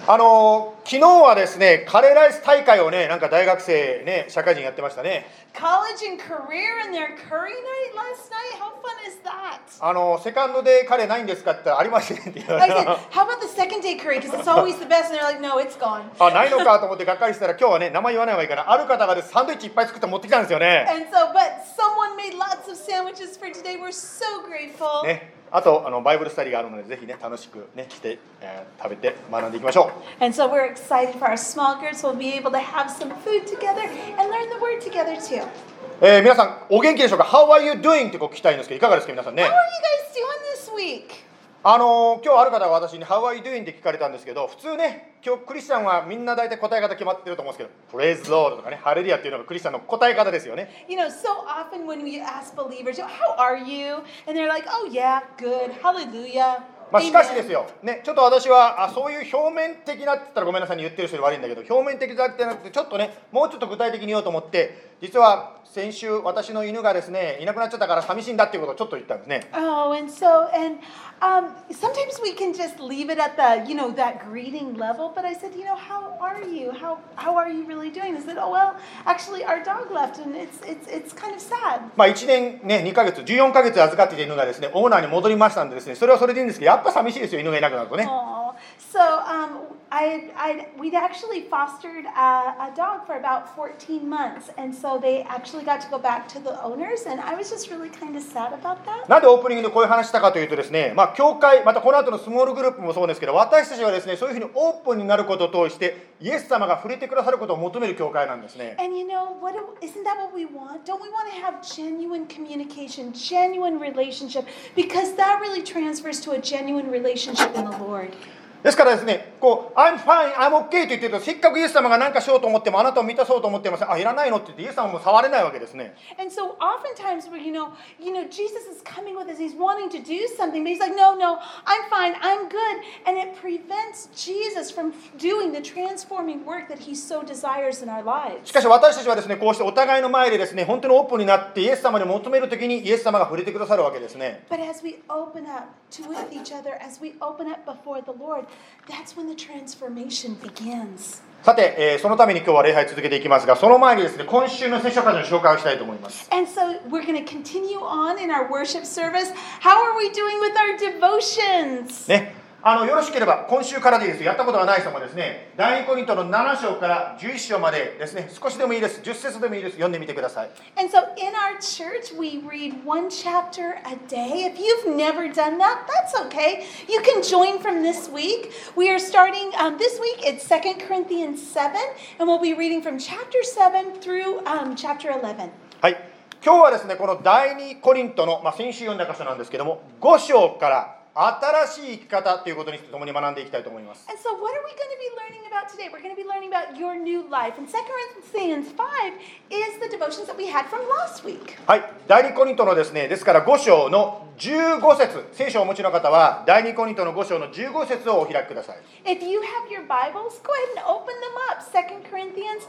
昨日はですね、カレーライス大会をね、なんか大学生ね、社会人やってましたね。 College and career and their curry night last night. How fun is that? セカンドでカレーないんですかって言ったらありませんって言わ I れ said, た。 how about the second day curry? Because it's always the best. And they're like, no, it's gone. ないのかと思ってがっかりしたら、今日はね、名前言わない方がいいから、ある方がですサンドイッチいっぱい作って持ってきたんですよね。 And so, but someone made lots of sandwiches for today. We're so grateful. ね、あとバイブルスタディがあるので、ぜひね、楽しくね、して、食べて学んでいきましょう。 And so we're excited for our small groups. We'll be able to have some food together and learn the word together too. 皆さんお元気でしょうか？ How are you doing? ってこう聞きたいんですけど、いかがですか皆さんね。 How are you guys doing this week? 今日ある方が私に How are you doing? って聞かれたんですけど、普通ね、今日クリスチャンはみんな大体答え方決まってると思うんですけど、Praise the Lord とかね、ハレルヤっていうのがクリスチャンの答え方ですよね。 You know, so often when we ask believers, how are you? And they're like, oh yeah, good, hallelujah. しかしですよ、ね、ちょっと私はそういう表面的なって言ったらごめんなさいに言ってる人に悪いんだけど、表面的じゃなくてちょっとね、もうちょっと具体的に言おうと思って、実は先週私の犬がですね、いなくなっちゃったから寂しいんだっていうことをちょっと言ったんですね。 Oh, and sometimes we can just leave it at the, that greeting level. But I said, how are you? How are you really doing? I said, oh well, actually our dog left, and it's kind of sad. 1年ね、2ヶ月、14ヶ月預かっていた犬がですね、オーナーに戻りましたんでですね、それはそれでいいんですけど、やっぱ寂しいですよ、犬がいなくなるとね。 So we'd actually fostered a dog for about 14 months, and so they actually got to go back to the owners, and I was just really kind of sad about that. なんでオープニングでこういう話したかというとですね、教会、またこの後のスモールグループもそうですけど、私たちはですね、そういうふうにオープンになることを通して、イエス様が触れてくださることを求める教会なんですね。 And isn't that what we want? Don't we want to have genuine communication, genuine relationship? Because that really transfers to a genuine relationship in the Lord. ですからですね、I'm fine, I'm okay と言ってると、せっかくイエス様が何かしようと思っても、あなたを満たそうと思っても、いらないのって言って、イエス様も触れないわけですね。 And so oftentimes, Jesus is coming with us, he's wanting to do something, but he's like, no, I'm fine, I'm good. And it prevents Jesus from doing the transforming work that he so desires in our lives. しかし私たちはですね、こうしてお互いの前でですね、本当にオープンになって、イエス様に求めるときに、イエス様が触れてくださるわけですね。 But as we open up with each other, as we open up before the Lord, that's when the transformation begins. さて、そのために今日は礼拝続けていきますが、その前にですね、今週の聖書箇所の紹介をしたいと思います。 And so we're going to continue on in our worship service. How are we doing with our devotions? ね、よろしければ今週からでいいです。やったことがない人もですね、第2コリントの7章から11章までですね、少しでもいいです。10節でもいいです。読んでみてください。 And so in our church, we read one chapter a day. If you've never done that, that's okay. You can join from this week. We are starting this week. It's 2 Corinthians 7, and we'll be reading from chapter 7 through chapter 11. はい。今日はですね、この第2コリントの、先週読んだ箇所なんですけども、5章から新しい生き方ということに共に学んでいきたいと思います。 And so what are we going to be learning about today? We're going to be learning about your new life. And 2 Corinthians 5 is the devotions that we had from last week. はい、第2コリントのですね、ですから5章の15節、聖書をお持ちの方は第2コリントの5章の15節をお開きください。 If you have your Bibles, go ahead and open them up. 2 Corinthians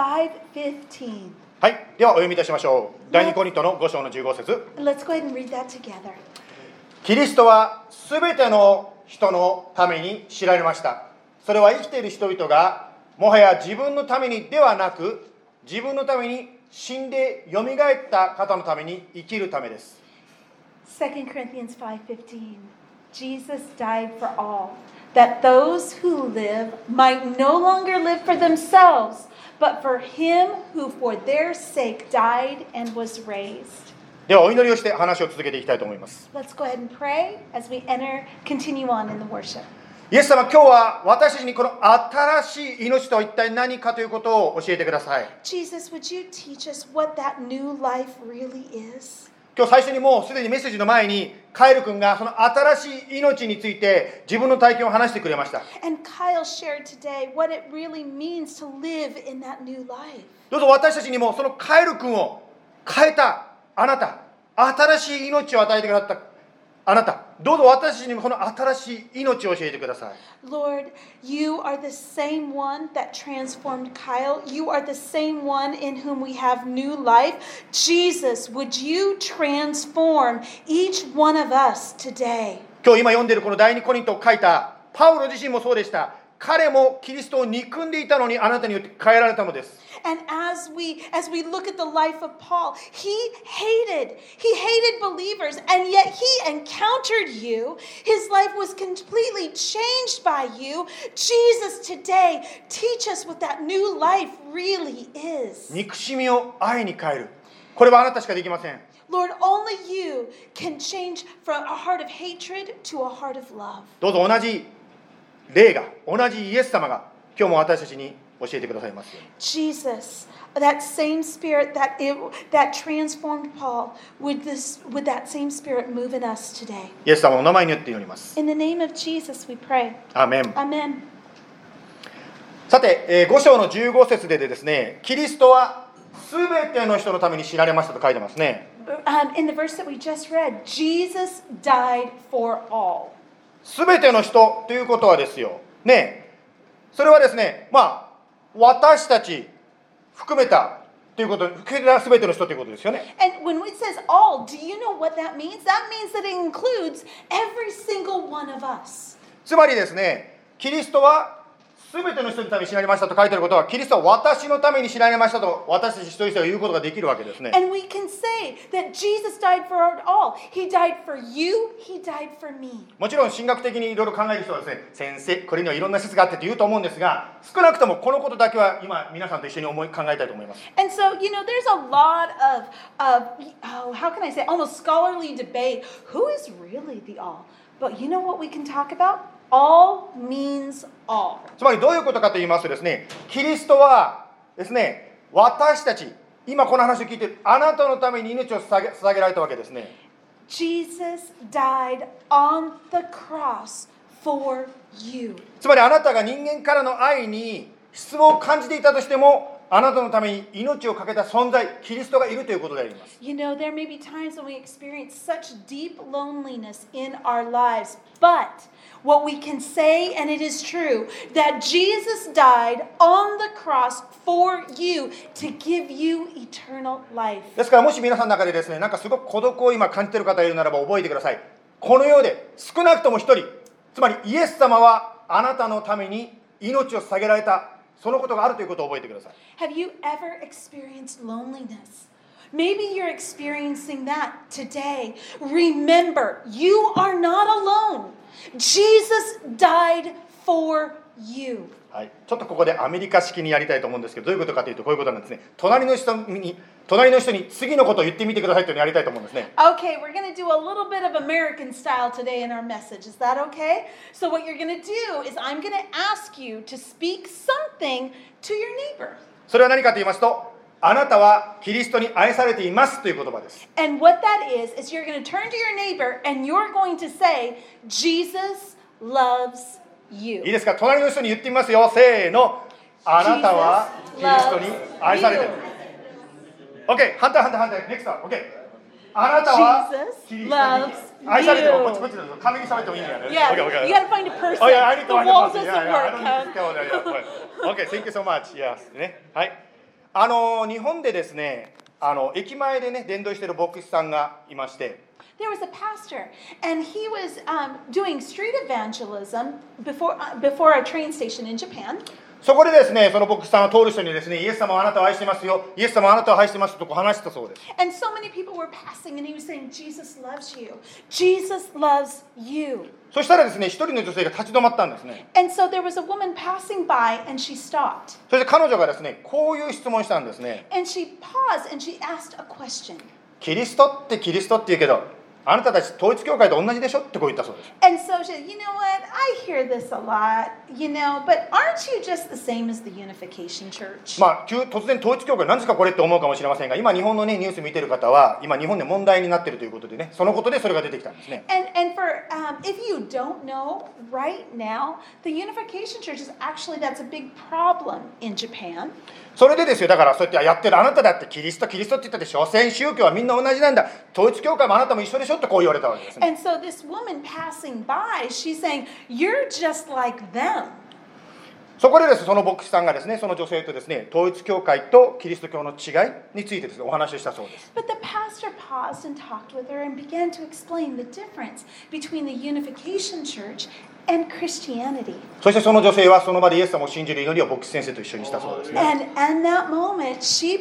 5:15. はい、ではお読みいたしましょう。第2コリントの5章の15節。 Let's go ahead and read that together. キリストはすべての人のために知られました。それは生きている人々がもはや自分のためにではなく、自分のために死んでよみがえった方のために生きるためです。 2 Corinthians 5:15. Jesus died for all, that those who live might no longer live for themselves, but for him who for their sake died and was raised. ではお祈りをして話を続けていきたいと思います。 Let's go ahead and pray as we continue on in the worship. イエス様、今日は私たちにこの新しい命とは一体何かということを教えてください。 Jesus, would you teach us what that new life really is? 今日最初にもうすでにメッセージの前にカエル君がその新しい命について自分の体験を話してくれました。 And Kyle shared today what it really means to live in that new life. どうぞ私たちにもそのカエル君を変えたあなた、新しい命を与えてくださったあなた、どうぞ私たちにもこの新しい命を教えてください。 Lord, you are the same one that transformed Kyle. You are the same one in whom we have new life. Jesus, would you transform each one of us today? 今日今読んでいるこの第2コリントを書いたパウロ自身もそうでした。 彼もキリストを憎んでいたのにあなたによって変えられたのです。 And as we look at the life of Paul, he hated believers, and yet he encountered you. His life was completely changed by you. Jesus, today, teach us what that new life really is. 憎しみを愛に変える。これはあなたしかできません。 Lord, only you can change from a heart of hatred to a heart of love. どうぞ同じ霊が、同じイエス様が今日も私たちに教えてくださいますように。 Jesus, that same spirit that transformed Paul, would that same spirit move in us today? イエス様のお名前によって祈ります。 In the name of Jesus, we pray. アーメン。 Amen. さて、5章の15節でですね、キリストはすべての人のために死なれましたと書いてますね。 In the verse that we just read, Jesus died for all. すべての人ということはですよ。ね、それはですね、私たち含めたということ、含めたすべての人ということですよね。 And when it says all, do you know what that means? That means that it includes every single one of us. つまりですね、キリストはすべての人のために死なれましたと書いてあることは、キリストは私のために死なれましたと私たち一人一人が言うことができるわけですね。 And we can say that Jesus died for all. He died for you, he died for me. もちろん神学的にいろいろ考える人はですね、先生、これにはいろんな説があってと言うと思うんですが、少なくともこのことだけは今皆さんと一緒に考えたいと思います。 And so, there's a lot of how can I say, almost scholarly debate. Who is really the all? But you know what we can talk about? All means all. つまりどういうことかと言いますとですね、キリストはですね、私たち、今この話を聞いているあなたのために命を捧げられたわけですね。 Jesus died on the cross for you. つまりあなたが人間からの愛に質問を感じていたとしても、あなたのために命を懸けた存在、キリストがいるということであります。 There may be times when we experience such deep loneliness in our lives, but what we can say, and it is true, that Jesus died on the cross for you to give you eternal life. ですからもし皆さんの中でですね、なんかすごく孤独を今感じている方がいるならば覚えてください。この世で少なくとも一人、つまりイエス様はあなたのために命を捧げられた。そのことがあるということを覚えてください。 Have you ever experienced loneliness? Maybe you're experiencing that today. Remember, you are not alone. Jesus died for you. はい、ちょっとここでアメリカ式にやりたいと思うんですけど、どういうことかというとこういうことなんですね。隣の人に次のことを言ってみてくださいというのをやりたいと思うんですね。 Okay, we're going to do a little bit of American style today in our message. Is that okay? So what you're going to do is I'm going to ask you to speak something to your neighbor. それは何かと言いますと、あなたはキリストに愛されていますという言葉です。 And what that is you're going to turn to your neighbor and you're going to say, Jesus loves you. いいですか、隣の人に言ってみますよ。せーの。あなたはキリストに愛されている。OK、反対。NEXT は OK。あなたはキリストに愛されている。こっちだと紙に喋ってもいいんだよね。 Yeah, you got to find a person. The wall doesn't work. OK、thank you so much. Yes. ね。はい。日本でですね、駅前でね、伝道している牧師さんがいまして。 There was a pastor, and he was doing street evangelism before a train station in Japan. そこでですね、その牧師さんは通る人にですね、イエス様はあなたを愛してますよ、イエス様はあなたを愛してますとこう話したそうです。 And so many people were passing, and he was saying, Jesus loves you. Jesus loves you. そしたらですね、一人の女性が立ち止まったんですね。 And so there was a woman passing by, and she stopped. そして彼女がですね、こういう質問したんですね。 And she paused, and she asked a question. キリストって言うけど、あなたたち統一教会と同じでしょってこう言ったそうです。 And so she said, you know what, I hear this a lot, but aren't you just the same as the Unification Church? 突然統一教会何ですかこれって思うかもしれませんが、今日本のねニュース見てる方は今日本で問題になっているということでね、そのことでそれが出てきたんですね。 And for if you don't know right now, the Unification Church is actually that's a big problem in Japan. それでですよ、だからそうやってやってるあなただってキリストって言ったって所詮宗教はみんな同じなんだ、統一教会もあなたも一緒でしょってこう言われたわけですね。 And so this woman passing by, she's saying, "You're just like them." そこでですその牧師さんがですね、その女性とですね、統一教会とキリスト教の違いについてですね、お話をしたそうです。 But the pastor paused and talked with her and began to explain the difference between the Unification Church and Christianity. そしてその女性はその場でイエス様を信じる祈りを牧師先生と一緒にしたそうですね。 And in that moment, she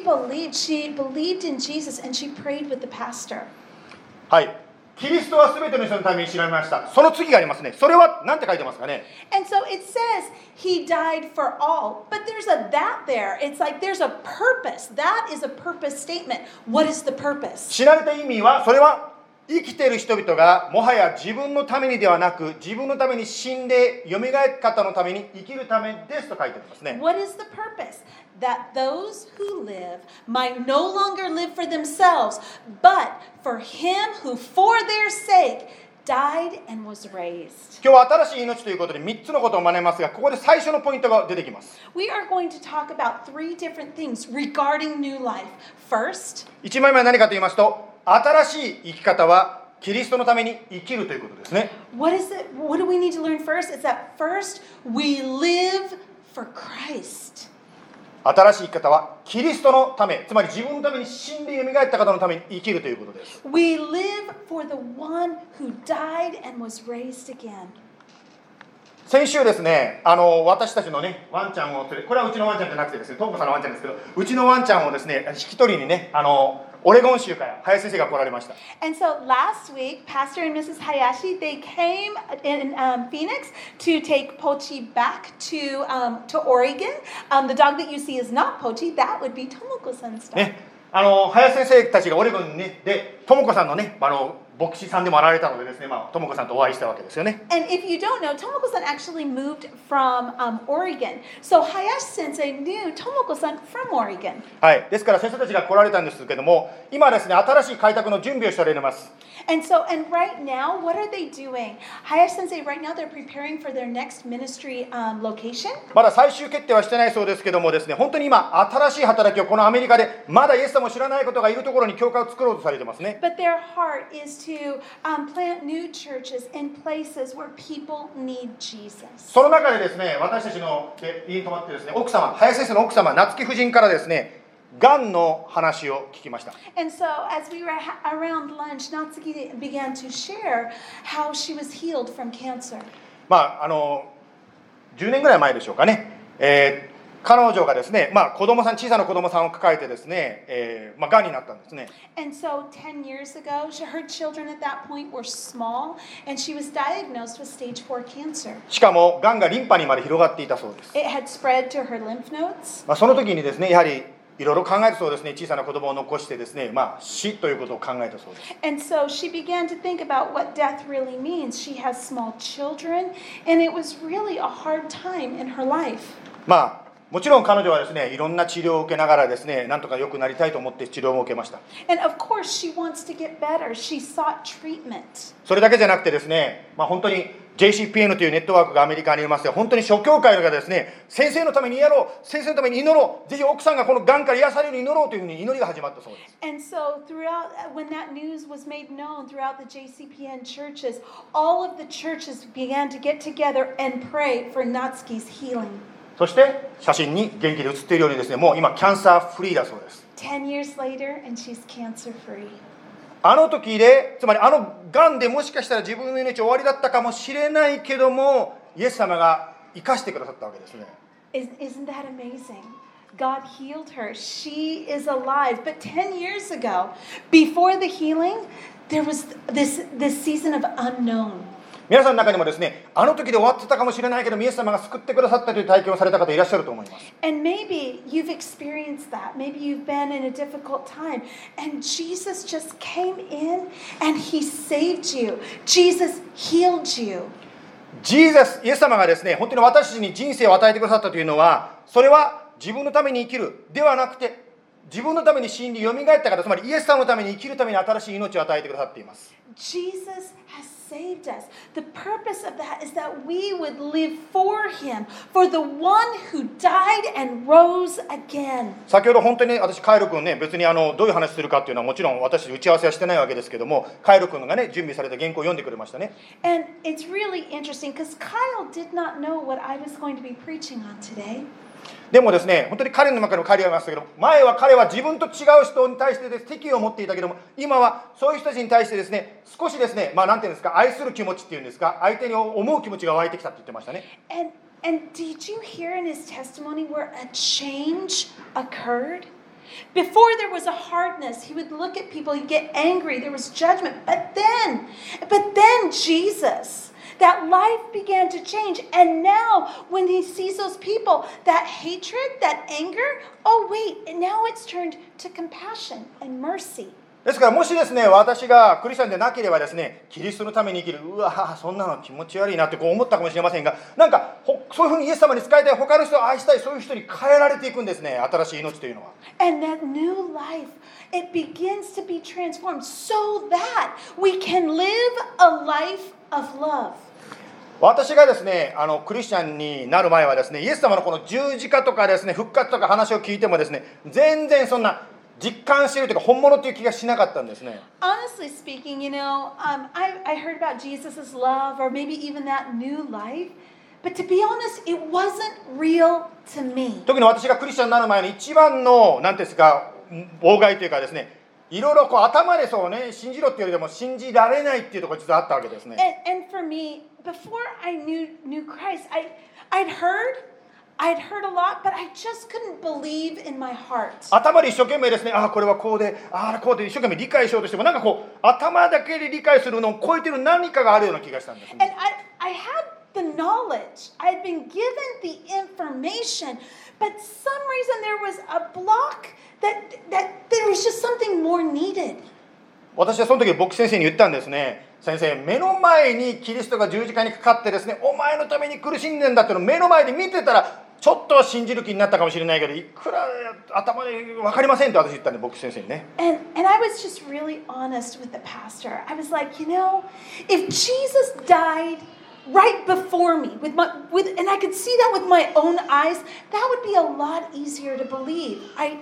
believed in Jesus and she prayed with the pastor. はい。キリストはすべての人のために知られました。その次がありますね。それは何て書いてますかね。 And so it says he died for all, but there's a that there. It's like there's a purpose. That is a purpose statement. What is the purpose? 知られた意味は、それは生きている人々がもはや自分のためにではなく、自分のために死んで蘇る方のために生きるためですと書いてありますね。 What is the purpose? That those who live might no longer live for themselves, but for him who for their sake died and was raised. 今日は新しい命ということで3つのことを学びますが、ここで最初のポイントが出てきます。 We are going to talk about 3 different things regarding new life. First, 1枚目は何かと言いますと、新しい生き方はキリストのために生きるということですね。 what do we need to learn first? Is that first we live for Christ. 新しい生き方はキリストのため、つまり自分のために死んで蘇った方のために生きるということです。 We live for the one who died and was raised again. 先週ですね、私たちのね、ワンちゃんをこれはうちのワンちゃんじゃなくてですね、トンコさんのワンちゃんですけど、うちのワンちゃんをですね、引き取りにね、オレゴン州から林先生が来られました。 And so last week, Pastor and Mrs. Hayashi, they came in Phoenix to take Pochi back to Oregon. The dog that you see is not Pochi. That would be Tomoko-san's dog. ね、林先生たちがオレゴンにね、で、ともこさんのね、牧師さんでもあられたのでですね、ともこさんとお会いしたわけですよね。 And if you don't know, Tomoko-san actually moved from Oregon. So Hayashi-sensei knew Tomoko-san from Oregon. はい、ですから先生たちが来られたんですけども、今ですね、新しい開拓の準備をしておられます。 And right now, what are they doing? Hayashi-sensei, right now, they're preparing for their next ministry location. まだ最終決定はしてないそうですけどもですね、本当に今、新しい働きをこのアメリカで、まだイエス様を知らないことがいるところに教会を作ろうとされてますね。 But their heart is to plant new churches in places where people need Jesus. その中でですね、私たちの家に泊まってですね、奥様、林先生の奥様、夏木夫人からですね、がんの話を聞きました。 And so as we were around lunch, Natsuki began to share how she was healed from cancer. 10年ぐらい前でしょうかね。彼女がですね、小さな子供さんを抱えてですね、がんになったんですね。 And so 10 years ago, her children at that point were small, and she was diagnosed with stage 4 cancer. しかも、がんがリンパにまで広がっていたそうです。 It had spread to her lymph nodes. その時にですね、やはりいろいろ考えたそうですね。小さな子供を残してですね、死ということを考えたそうです。 And so she began to think about what death really means. She has small children, and it was really a hard time in her life. もちろん彼女はですね、いろんな治療を受けながらですね、なんとか良くなりたいと思って治療を受けました。 And of course, she wants to get better. She sought treatment. それだけじゃなくてですね、本当に JCPN というネットワークがアメリカにありまして、本当に諸教会がですね、先生のためにやろう、先生のために祈ろう、ぜひ奥さんがこのがんから癒されるように祈ろうというふうに祈りが始まったそうです。 And so when that news was made known throughout the JCPN churches, all of the churches began to get together and pray for Natsuki's healing. そして写真に元気で写っているようにですね、もう今キャンサーフリーだそうです。 10 years later, and she's cancer free. あの時で、つまりがんでもしかしたら自分の命終わりだったかもしれないけども、イエス様が生かしてくださったわけですね。 Isn't that amazing? God healed her. She is alive. But 10 years ago, before the healing, there was this season of unknown. 皆さんの中にもですね、あの時で終わってたかもしれないけど、イエス様が救ってくださったという体験をされた方いらっしゃると思います。 And maybe you've experienced that. Maybe you've been in a difficult time. And Jesus just came in and he saved you. Jesus healed you. イエス様がですね、本当に私たちに人生を与えてくださったというのは、それは自分のために生きるではなくて、自分のために死んで蘇った方、つまりイエス様のために生きるために新しい命を与えてくださっています。 Jesus has saved us. The purpose of that is that we would live for him, for the one who died and rose again. 先ほど本当に私、カイル君ね、別にどういう話するかっていうのはもちろん私打ち合わせはしてないわけですけども、カイル君がね、準備された原稿を読んでくれましたね。 And it's really interesting because Kyle did not know what I was going to be preaching on today. でもですね、本当に彼の中の彼がいましたけど、前は彼は自分と違う人に対して敵意を持っていたけども、今はそういう人たちに対してですね、少しですね、なんていうんですか、 愛する気持ちっていうんですか、相手に思う気持ちが湧いてきたって言ってましたね。 And did you hear in his testimony where a change occurred? Before there was a hardness, he would look at people, he'd get angry, there was judgment. But then Jesus, that life began to change. And now when he sees those people, that hatred, that anger, oh wait, now it's turned to compassion and mercy. ですからもしですね、私がクリスチャンでなければですね、キリストのために生きる、うわそんなの気持ち悪いなってこう思ったかもしれませんが、なんかそういうふうにイエス様に仕えたい、他の人を愛したい、そういう人に変えられていくんですね、新しい命というのは。 And that new life, it begins to be transformed so that we can live a life of love. 私がですね、クリスチャンになる前はですね、イエス様のこの十字架とかですね、復活とか話を聞いてもですね、全然そんな実感しているというか本物という気がしなかったんですね。 Honestly speaking, I heard about Jesus' love or maybe even that new life, but to be honest, it wasn't real to me. 特に私がクリスチャンになる前の一番の何ですか妨害というかですね、いろいろこう頭でそうね信じろっていうよりでも信じられないっていうところが実はあったわけですね。 And for me, before I knew Christ, I'd heard a lot, but I just couldn't believe in my heart. 頭で一生懸命ですね、これはこうで、こうで一生懸命理解しようとしても、なんかこう頭だけで理解するのを超えてる何かがあるような気がしたんです、ね。 And I had the knowledge, I'd been given the information, but some reason there was a block that there was just something more needed. 私はその時牧師先生に言ったんですね。先生、目の前にキリストが十字架にかかってですね、お前のために苦しんでんだっていうのを目の前で見てたら、ちょっとは信じる気になったかもしれないけど、いくら頭で分かりませんって私言ったんで、牧師先生にね。 And I was just really honest with the pastor. I was like, if Jesus died right before me, and I could see that with my own eyes, that would be a lot easier to believe.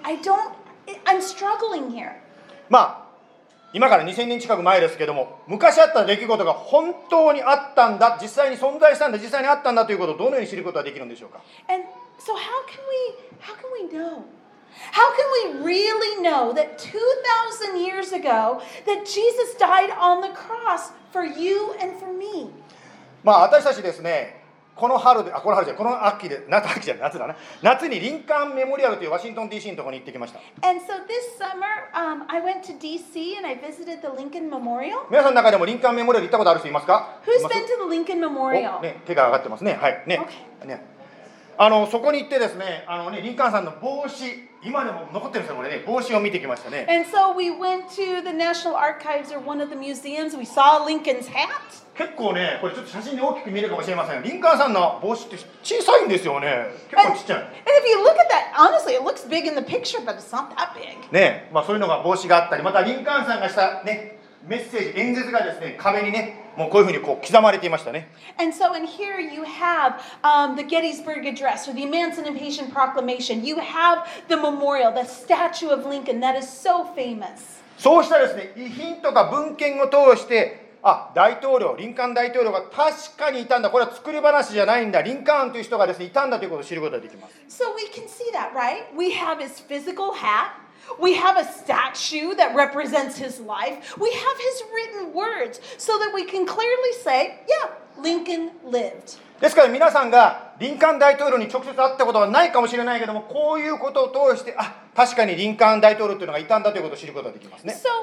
I'm struggling here. 今から2000年近く前ですけども、昔あった出来事が本当にあったんだ、実際に存在したんだ、実際にあったんだということをどのように知ることができるんでしょうか。 And so how can we know? How can we really know that 2,000 years ago that Jesus died on the cross for you and for me? 私たちですね、この秋で、夏だな。夏にリンカーンメモリアルというワシントン DC のところに行ってきました。 And so this summer, I went to DC and I visited the Lincoln Memorial. 皆さんの中でもリンカーンメモリアル行ったことある人いますか？ Who's been to the Lincoln Memorial? 手が上がってますね。はい。ね。 Okay. ね。そこに行ってですね、リンカーンさんの帽子、今でも残ってるんですよ、これね。帽子を見てきましたね。 And so we went to the National Archives or one of the museums. We saw Lincoln's hat. 結構ね、これちょっと写真で大きく見えるかもしれませんが、リンカーンさんの帽子って小さいんですよね。結構ちっちゃい。 And if you look at that, honestly, it looks big in the picture, but it's not that big. ね、そういうのが帽子があったり、またリンカーンさんがしたね、メッセージ、演説がですね、壁にね、もうこういうふうに刻まれていましたね。 And so in here you have the Gettysburg Address or the Emancipation Proclamation. You have the memorial, the statue of Lincoln that is so famous. そうしたですね、遺品とか文献を通して、リンカーン大統領が確かにいたんだ。これは作り話じゃないんだ。リンカーンという人がですね、いたんだということを知ることができます。 So we can see that, right? We have his physical hat. We have a statue that represents his life. We have his written words so that we can clearly say, yeah, Lincoln lived. ですから皆さんがリンカーン大統領に直接会ったことはないかもしれないけども、こういうことを通して、確かにリンカーン大統領というのがいたんだということを知ることができますね。 So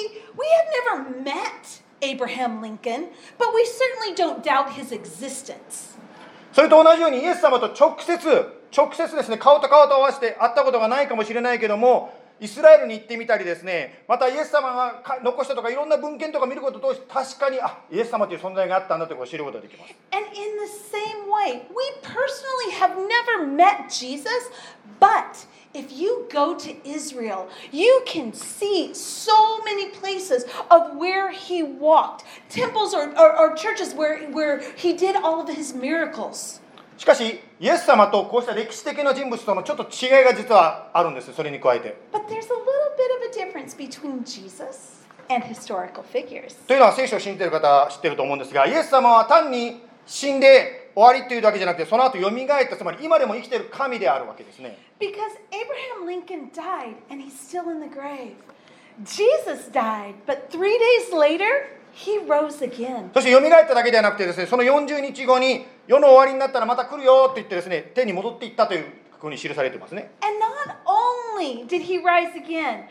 we have never met Abraham Lincoln, but we certainly don't doubt his existence. それと同じようにイエス様と直接ですね、顔と顔と合わせて会ったことがないかもしれないけども、イスラエルに行ってみたりですね、またイエス様が残したとかいろんな文献とか見ることを通して確かにイエス様という存在があったんだということを知ることができます。 And in the same way, we personally have never met Jesus, but if you go to Israel, you can see so many places of where he walked, temples or churches where he did all of his miracles. しかし、イエス様とこうした歴史的な人物とのちょっと違いが実はあるんです。それに加えて。 But there's a little bit of a difference between Jesus and historical figures. というのは聖書を信じている方は知っていると思うんですが、イエス様は単に死んで終わりというだけじゃなくて、その後蘇った、つまり今でも生きている神であるわけですね。 Because Abraham Lincoln died and he's still in the grave. Jesus died, but 3 days later, he rose again. そして蘇っただけではなくてですね、その40日後に世の終わりになったらまた来るよと言ってですね、天に戻っていったというふうに記されていますね。 And not only did he rise again,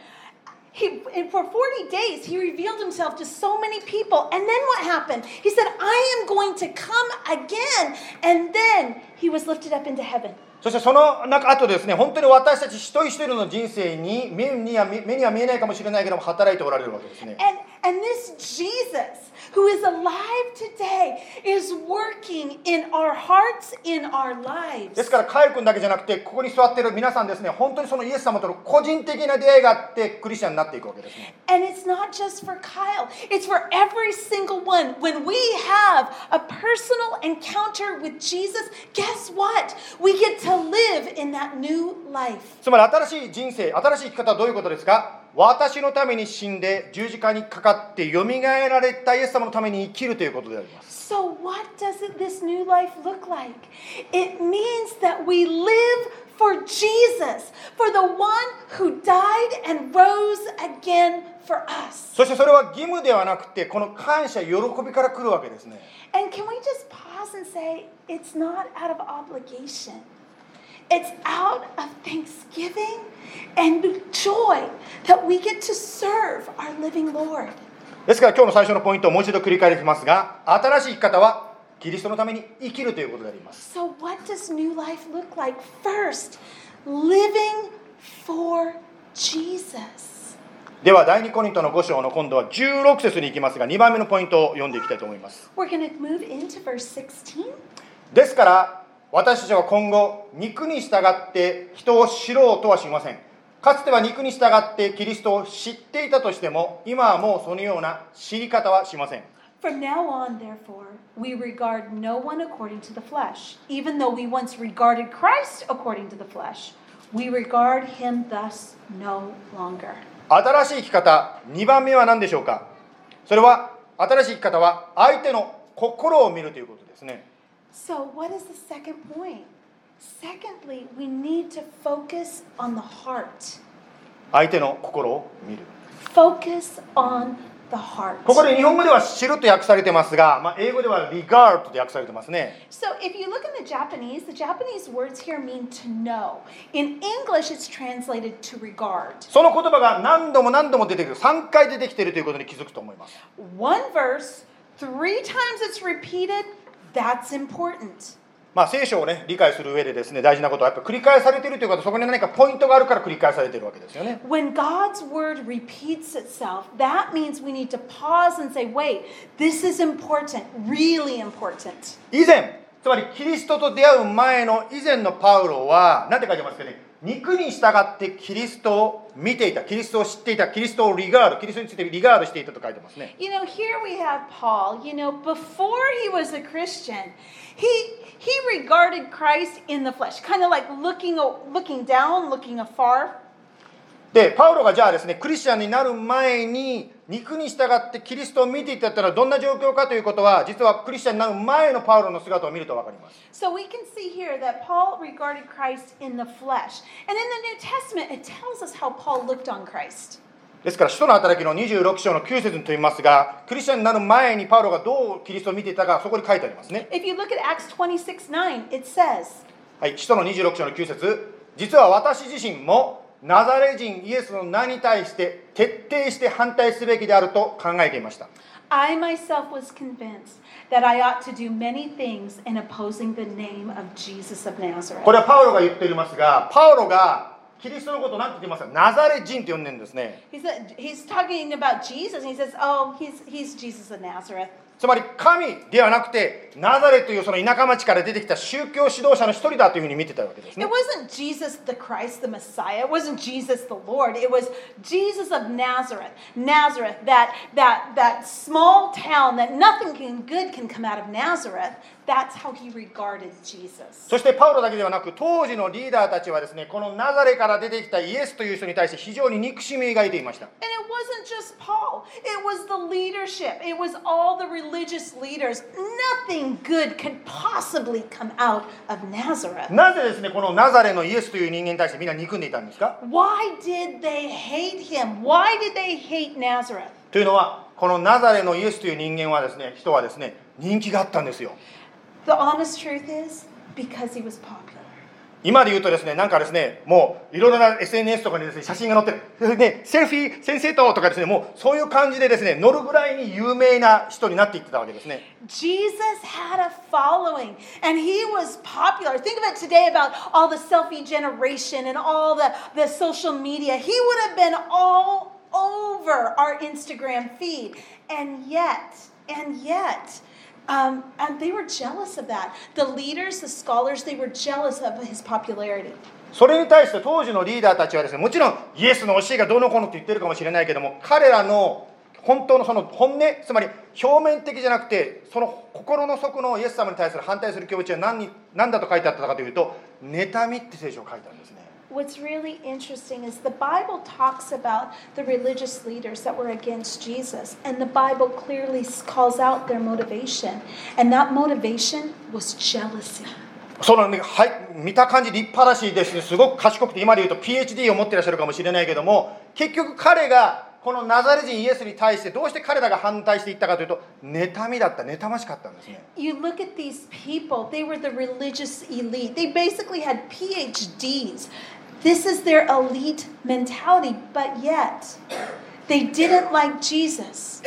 and for 40 days, he revealed himself to so many people. And then what happened? He said, I am going to come again. And then he was lifted up into heaven. そしてその後ですね、本当に私たち一人一人の人生に目には見えないかもしれないけども働いておられるわけですね。 And this Jesus, who is alive today, is working in our hearts, in our lives. ですからカイル君だけじゃなくて、ここに座っている皆さんですね、本当にそのイエス様との個人的な出会いがあってクリスチャンになっていくわけですね。 And it's not just for Kyle, it's for every single one. When we have a personal encounter with Jesus, guess what? We get to live in that new life. つまり新しい人生、新しい生き方はどういうことですか？私のために死んで十字架にかかってよみがえられたイエス様のために生きるということであります。 So what does this new life look like? It means that we live for Jesus, for the one who died and rose again for us. そしてそれは義務ではなくて、この感謝、喜びから来るわけですね。 And can we just pause and say, it's not out of obligation. It's out of thanksgiving and joy that we get to serve our living Lord. ですから今日の最初のポイントをもう一度繰り返しますが、新しい生き方はキリストのために生きるということであります。 So what does new life look like? First, living for Jesus. では第2コリントの5章の今度は16節に行きますが、2番目のポイントを読んでいきたいと思います。 We're going to move into verse 16. ですから私たちは今後肉に従って人を知ろうとはしません。かつては肉に従ってキリストを知っていたとしても、今はもうそのような知り方はしません。 From now on, therefore, we regard no one according to the flesh. Even though we once regarded Christ according to the flesh, we regard him thus no longer. 新しい生き方、2番目は何でしょうか？それは新しい生き方は相手の心を見るということですね。 So what is the second point? Secondly, we need to focus on the heart. 相手の心を見る。 Focus on the heart. ここで日本語では知ると訳されてますが、英語では regard と訳されてますね。 So if you look in the Japanese words here mean to know. In English, it's translated to regard. その言葉が何度も何度も出てくる、3回出てきているということに気づくと思います。 One verse, 3 times it's repeated, that's important. 聖書をね、理解する上でですね、大事なことはやっぱ繰り返されているということ、そこに何かポイントがあるから繰り返されているわけですよね。 When God's word repeats itself, that means we need to pause and say, wait, this is important, really important. 以前、つまりキリストと出会う前の以前のパウロは、何て書いてますかね、肉に従ってキリストを見ていた、キリストを知っていた、キリストをリガード、キリストについてリガードしていたと書いてますね。 You know, here we have Paul. You know, before he was a Christian, he regarded Christ in the flesh, kind of like looking down, looking afar. で、パウロがじゃあですね、クリスチャンになる前に肉に従ってキリストを見ていたってのはどんな状況かということは、実はクリスチャンになる前のパウロの姿を見ると分かります。 So we can see here that Paul regarded Christ in the flesh. And in the New Testament, it tells us how Paul looked on Christ. ですから、使徒の働きの26章の9節にといいますが、クリスチャンになる前にパウロがどうキリストを見ていたか、そこに書いてありますね。 If you look at Acts 26:9, it says, はい、使徒の26章の9節、実は私自身もナザレ人イエスの名に対して徹底して反対すべきであると考えていました。 I myself was convinced that I ought to do many things in opposing the name of Jesus of Nazareth. これはパウロが言っていますが、パウロがキリストのことを何て言ってますか？ナザレ人と呼んでるんですね。 He's talking about Jesus, and he says, "Oh, he's Jesus of Nazareth." つまり神ではなくてナザレというその田舎町から出てきた宗教指導者の一人だというふうに見てたわけですね。 It wasn't Jesus the Christ, the Messiah. It wasn't Jesus the Lord. It was Jesus of Nazareth. Nazareth, that small town that nothing good can come out of Nazareth. That's how he regarded Jesus. そしてパウロだけではなく、当時のリーダーたちはですね、このナザレから出てきたイエスという人に対して非常に憎しみを抱いていました。 And it wasn't just Paul. It was the leadership. It was all the religious leaders. Nothing good could possibly come out of Nazareth. なぜですね、このナザレのイエスという人間に対してみんな憎んでいたんですか？ Why did they hate him? Why did they hate Nazareth? というのは、 このナザレのイエスという人間はですね、人はですね、人気があったんですよ。 The honest truth is, because he was popular. 今で言うとですね、なんかですね、もういろいろな SNS とかにですね、写真が載ってる。で、セルフィー先生ととかですね、もうそういう感じでですね、乗るぐらいに有名な人になっていってたわけですね。 Jesus had a following and he was popular. Think of it today about all the selfie generation and all the social media. He would have been all over our Instagram feed. And yet, and they were jealous of that. The leaders, the scholars, they were jealous of his popularity. それに対して当時のリーダーたちはですね、もちろんイエスの教えがどうのこうのって言ってるかもしれないけども、彼らの本当のその本音、つまり表面的じゃなくて、その心の底のイエス様に対する反対する気持ちは何だと書いてあったかというと、妬みって聖書を書いてあるんですね。 What's really interesting is the Bible talks about the religious leaders that were against Jesus, and the Bible clearly calls out their motivation, and that motivation was jealousy. そのね、はい、見た感じ立派だしですね、すごく賢くて、今で言うと PhD を持っていらっしゃるかもしれないけども、結局彼がこのナザレ人イエスに対してどうして彼らが反対していったかというと、妬みだった、妬ましかったんですね。 You look at these people, they were the religious elite. They basically had PhDs. This is their elite mentality, but yet they didn't like Jesus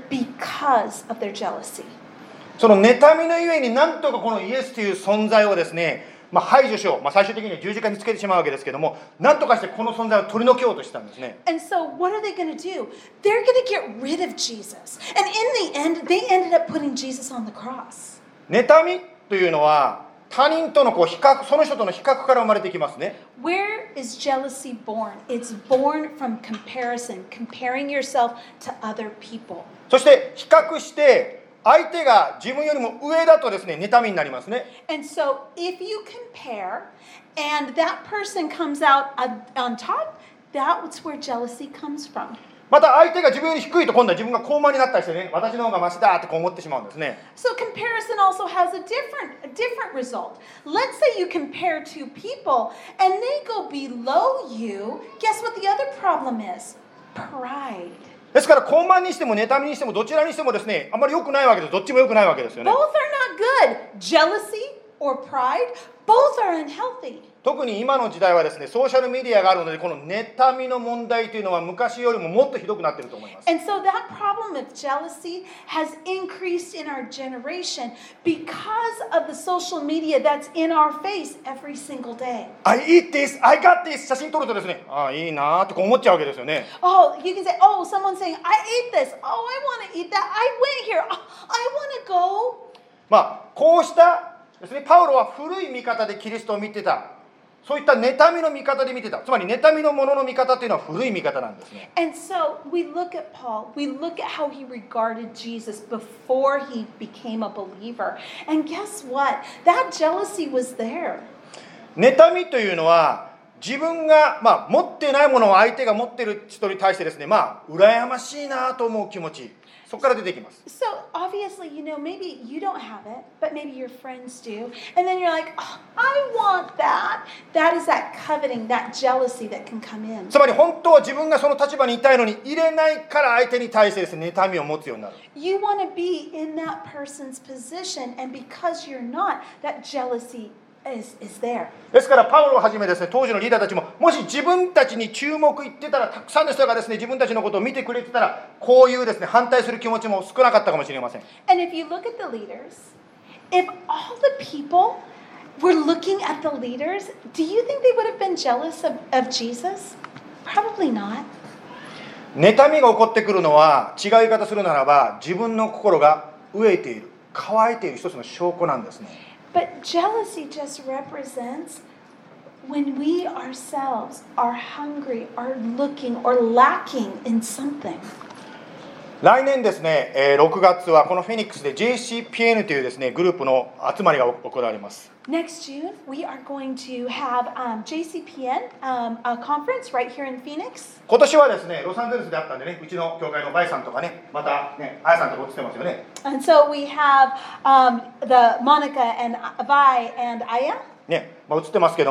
because of their jealousy. その妬みのゆえになんとかこのイエスという存在をですね、排除しよう、最終的には十字架につけてしまうわけですけども、なんとかしてこの存在を取り除けようとしたんですね。 And so what are they going to do? They're going to get rid of Jesus. And in the end, they ended up putting Jesus on the cross. 妬みというのは他人との比較、その人との比較から生まれてきますね。 Where is jealousy born? It's born from comparison, comparing yourself to other people. そして比較して相手が自分よりも上だとですね、妬みになりますね。 And so if you compare and that person comes out on top, that's where jealousy comes from. また相手が自分より低いと今度は自分が高慢になったりしてね、私の方がマシだってこう思ってしまうんですね。 So comparison also has a different result. Let's say you compare two people and they go below you. Guess what the other problem is? Pride. ですから高慢にしても妬みにしてもどちらにしてもですね、あんまり良くないわけです。どっちも良くないわけですよね。 Both are not good. Jealousy or pride, both are unhealthy. 特に今の時代はですね、ソーシャルメディアがあるので、この妬みの問題というのは昔よりももっとひどくなっていると思います。 And so that problem of jealousy has increased in our generation because of the social media that's in our face every single day. I eat this, I got this 写真撮るとですね、ああいいなーってこう思っちゃうわけですよね。 Oh, you can say, oh, someone's saying, I ate this. Oh, I want to eat that. I went here. Oh, I want to go. こうしたですね、パウロは古い見方でキリストを見てた。そういった妬みの見方で見てた。つまり妬みのものの見方というのは古い見方なんですね。 And so we look at Paul. We look at how he regarded Jesus before he became a believer. And guess what? That jealousy was there. 妬みというのは自分が、持ってないものを相手が持っている人に対してですね、羨ましいなと思う気持ち、そこから出てきます。 So obviously, maybe you don't have it, but maybe your friends do. And then you're like, oh, I want that. That is that coveting, that jealousy that can come in. つまり本当は自分がその立場にいたいのに入れないから相手に対してですね、妬みを持つようになる。 You want to be in that person's position, and because you're not, that jealousy is there. ですからパウロをはじめですね、当時のリーダーたちも、もし自分たちに注目いってたら、たくさんの人がですね、自分たちのことを見てくれてたら、こういうですね、反対する気持ちも少なかったかもしれません。 And if you look at the leaders, if all the people were looking at the leaders, do you think they would have been jealous of Jesus? Probably not. 妬みが起こってくるのは、違う言い方するならば、自分の心が飢えている、乾いている一つの証拠なんですね。 But jealousy just represents when we ourselves are hungry, are looking, or lacking in something. 来年ですね、6月はこのフェニックスで JCPN というですね、グループの集まりが行われます。 Next June, we are going to have JCPN, a conference right here in Phoenix. 今年はですね、ロサンゼルスであったんでね、うちの教会のバイさんとかね、またね、アヤさんとか映ってますよね。 And so we have the Monica and Vi and Aya. ね、映ってますけども、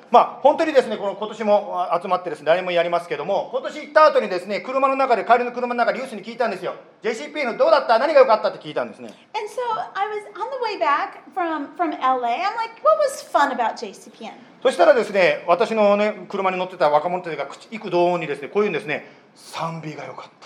本当にですね、この今年も集まってですね、来年もやりますけども、今年行った後にですね、帰りの車の中でユースに聞いたんですよ。JCP のどうだった？何が良かったって聞いたんですね。 And so I was on the way back from LA. I'm like, what was fun about JCPN? そしたらですね、私のね、車に乗ってた若者たちが幾度にですね、こういうんですね、賛美が良かった。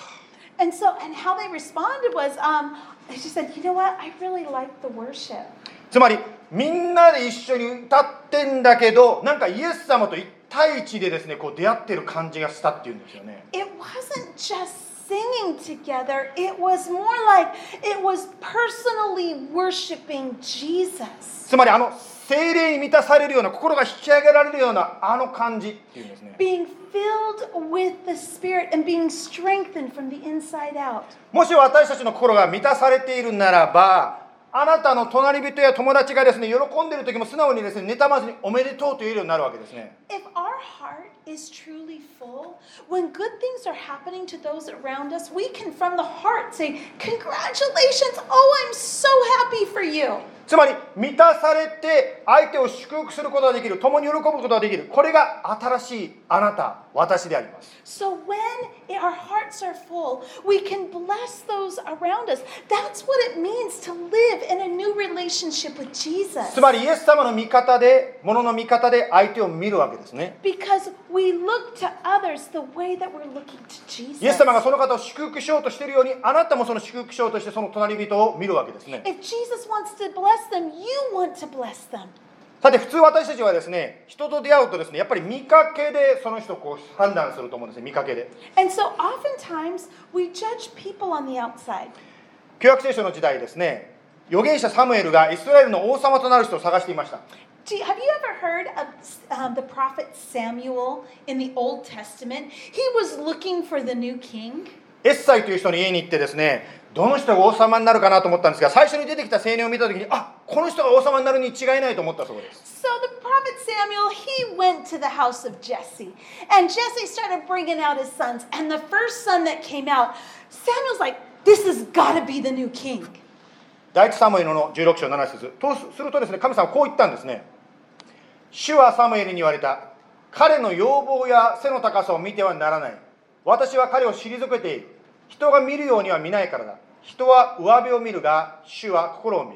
And how they responded was, they just said, you know what? I really like the worship. つまりみんなで一緒に歌ってんだけど、なんかイエス様と一対一でですね、こう出会ってる感じがしたっていうんですよね。 It wasn't just singing together. It was more like it was personally worshiping Jesus. つまり聖霊に満たされるような、心が引き上げられるような感じっていうんですね。 Being filled with the Spirit and being strengthened from the inside out. もし私たちの心が満たされているならば、あなたの隣人や友達がですね、喜んでいる時も素直にですね、妬まずにおめでとうと言えるようになるわけですね。 If our heart is truly full, when good things are happening to those around us, we can from the heart say, congratulations, oh, I'm so happy for you. つまり満たされて相手を祝福することができる、共に喜ぶことができる、これが新しいあなた、私であります。 So when our hearts are full, we can bless those around us. That's what it means to live in a new relationship with Jesus. つまりイエス様の見方で、物の見方で相手を見るわけですね。 Because we look to others the way that we're looking to Jesus. イエス様がその方を祝福しようとしているように、あなたもその祝福しようとしてその隣人を見るわけですね。 If Jesus wants to bless them, you want to bless them. さて普通私たちはですね、人と出会うとですね、やっぱり見かけでその人をこう判断すると思うんですね、見かけで。 And so oftentimes we judge people on the outside. 旧約聖書の時代ですね、預言者サムエルがイスラエルの王様となる人を探していました。 Have you ever heard of the prophet Samuel in the Old Testament? He was looking for the new king. エッサイという人の家に行ってですね、どの人が王様になるかなと思ったんですが、最初に出てきた青年を見たときに、この人が王様になるに違いないと思ったそうです。 So the prophet Samuel, he went to the house of Jesse. And Jesse started bringing out his sons. And the first son that came out, Samuel's like, this has got to be the new king. 第一サムエルの16章7節とするとですね、神様はこう言ったんですね。主はサムエルに言われた。彼の容貌や背の高さを見てはならない。私は彼を退けている。人が見るようには見ないからだ。人は上辺を見るが、主は心を見る。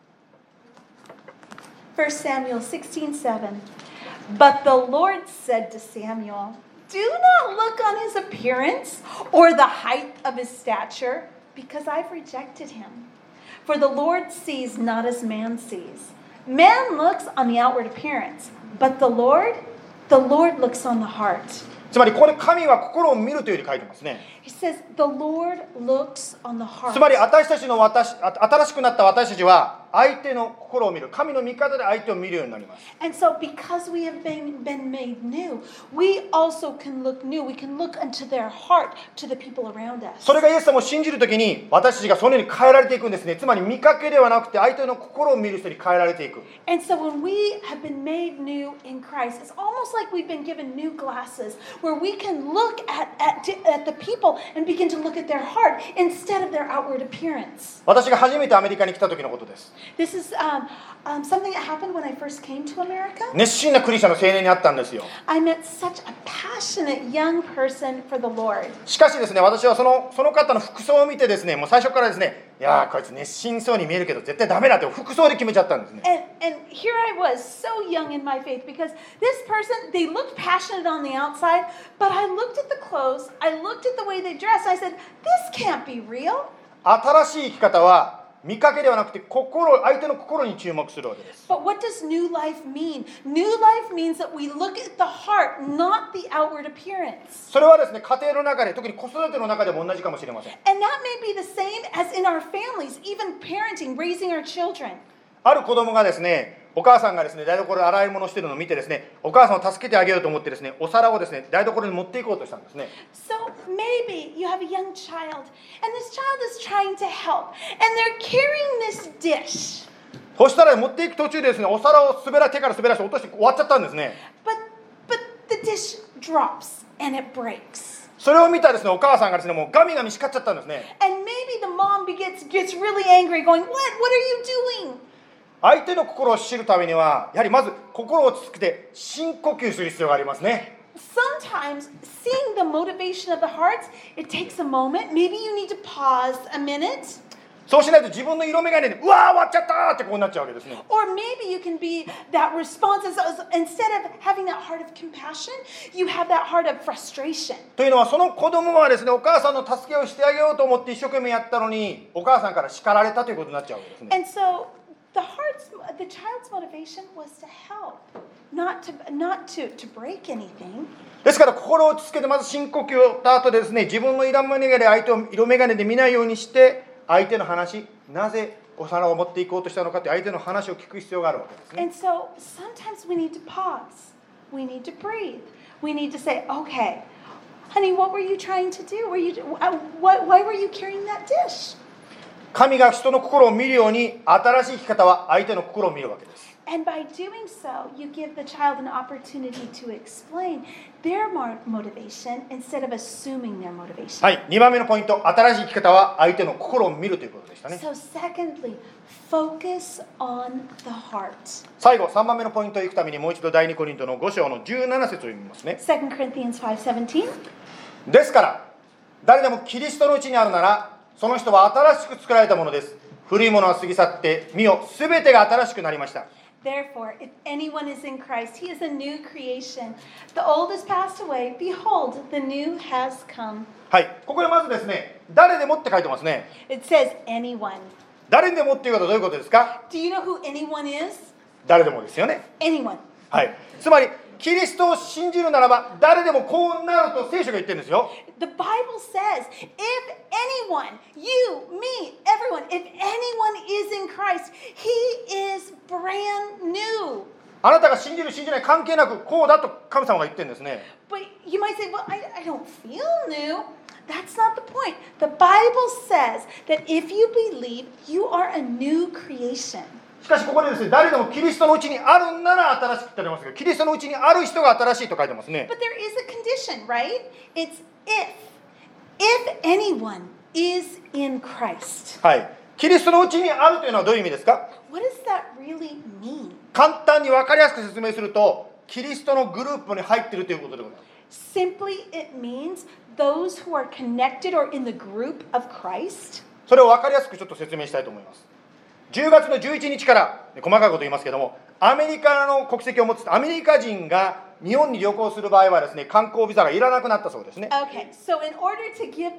1 Samuel 16:7. But the Lord said to Samuel, do not look on his appearance or the height of his stature, because I've rejected him. For the Lord sees not as man sees. Man looks on the outward appearance, but the Lord looks on the heart. つまりここで神は心を見るというふうに書いてますね。 He says, the Lord looks on the heart. つまり新しくなった私たちは相手の心を見る、神の見方で相手を見るようになります。 And so because we have been made new, we also can look new. We can look into their heart to the people around us. それがイエス様を信じるときに私たちがそのように変えられていくんですね。つまり見かけではなくて相手の心を見る人に変えられていく。 And so when we have been made new in Christ, it's almost like we've been given new glasses where we can look at the people and begin to look at their heart instead of their outward appearance. 私が初めてアメリカに来た時のことです。 This is something that happened when I first came to America. 熱心なクリスチャンの青年に会ったんですよ。 I met such a passionate young person for the Lord. しかしですね、私はその方の服装を見てですね、もう最初からですね、いやーこいつ熱心そうに見えるけど絶対ダメだって服装で決めちゃったんですね。 And here I was, so young in my faith, because this person, they looked passionate on the outside, but I looked at the clothes, I looked at the way they dressed, I said, this can't be real. 新しい生き方は見かけではなくて相手の心に注目するわけです。 But what does new life mean? New life means that we look at the heart, not the outward appearance. それはですね、家庭の中で、特に子育ての中でも同じかもしれません。 And that may be the same as in our families, even parenting, raising our children. ある子供がですね、お母さんがですね、台所で洗い物をしているのを見てですね、お母さんを助けてあげようと思ってですね、お皿をですね、台所に持っていこうとしたんですね。 So maybe you have a young child, and this child is trying to help, and they're carrying this dish. そしたら持っていく途中でですね、お皿を手から滑らして落として終わっちゃったんですね。 But the dish drops and it breaks. それを見たですね、お母さんがですね、もうガミガミ叱っちゃったんですね。 And maybe the mom gets really angry, going, "What are you doing?" 相手の心を知るためには、やはりまず心を落ち着けて深呼吸する必要がありますね。 Sometimes seeing the motivation of the hearts, it takes a moment. Maybe you need to pause a minute. そうしないと自分の色眼鏡で、うわー終わっちゃったーってこうなっちゃうわけですね。 Or maybe you can be that response instead of having that heart of compassion, you have that heart of frustration. というのは、その子供はですね、お母さんの助けをしてあげようと思って一生懸命やったのに、お母さんから叱られたということになっちゃうわけですね。 And so the child's motivation was to help, not to break anything. ですから心を落ち着けて、まず深呼吸をした後でですね、自分の色眼鏡で相手を色眼鏡で見ないようにして、相手の話、なぜお皿を持っていこうとしたのかという相手の話を聞く必要があるわけですね。 And so sometimes we need to pause. We need to breathe. We need to say, okay, honey, what were you trying to do? Why were you carrying that dish? 神が人の心を見るように、新しい生き方は相手の心を見るわけです。 And by doing so, you give the child an opportunity to explain their motivation instead of assuming their motivation. はい、2番目のポイント、新しい生き方は相手の心を見るということでしたね。 So secondly, focus on the heart. 最後、3番目のポイントをいくために、もう一度第2コリントの5章の17節を読みますね。 2 Corinthians 5:17. ですから、誰でもキリストのうちにあるなら、その人は新しく作られたものです。古いものは過ぎ去って、見よ、すべてが新しくなりました。 Therefore, if anyone is in Christ, he is a new creation. The old has passed away. Behold, the new has come. はい、ここでまずですね、誰でもって書いてますね。 It says anyone. 誰でもっていうことはどういうことですか？ Do you know who anyone is? 誰でもですよね。 Anyone. はい。つまり、キリストを信じるならば、誰でもこうなると聖書が言ってるんですよ。 The Bible says, if anyone, you, me, everyone, if anyone is in Christ, he is brand new. あなたが信じる信じない関係なく、こうだと神様が言ってるんですね。 But you might say, well, I don't feel new. That's not the point. The Bible says that if you believe, you are a new creation. しかしここでですね、誰でもキリストのうちにあるんなら新しくってありますが、キリストのうちにある人が新しいと書いてますね。 But there is a condition, right? It's if anyone is in Christ. はい。キリストのうちにあるというのはどういう意味ですか？ What does that really mean? 簡単に分かりやすく説明すると、キリストのグループに入っているということでございます。 Simply, it means those who are connected or in the group of Christ. それを分かりやすくちょっと説明したいと思います。10月の11日から細かいこと言いますけども、アメリカの国籍を持つアメリカ人が日本に旅行する場合はですね、観光ビザがいらなくなったそうですね。 Okay, so in order to give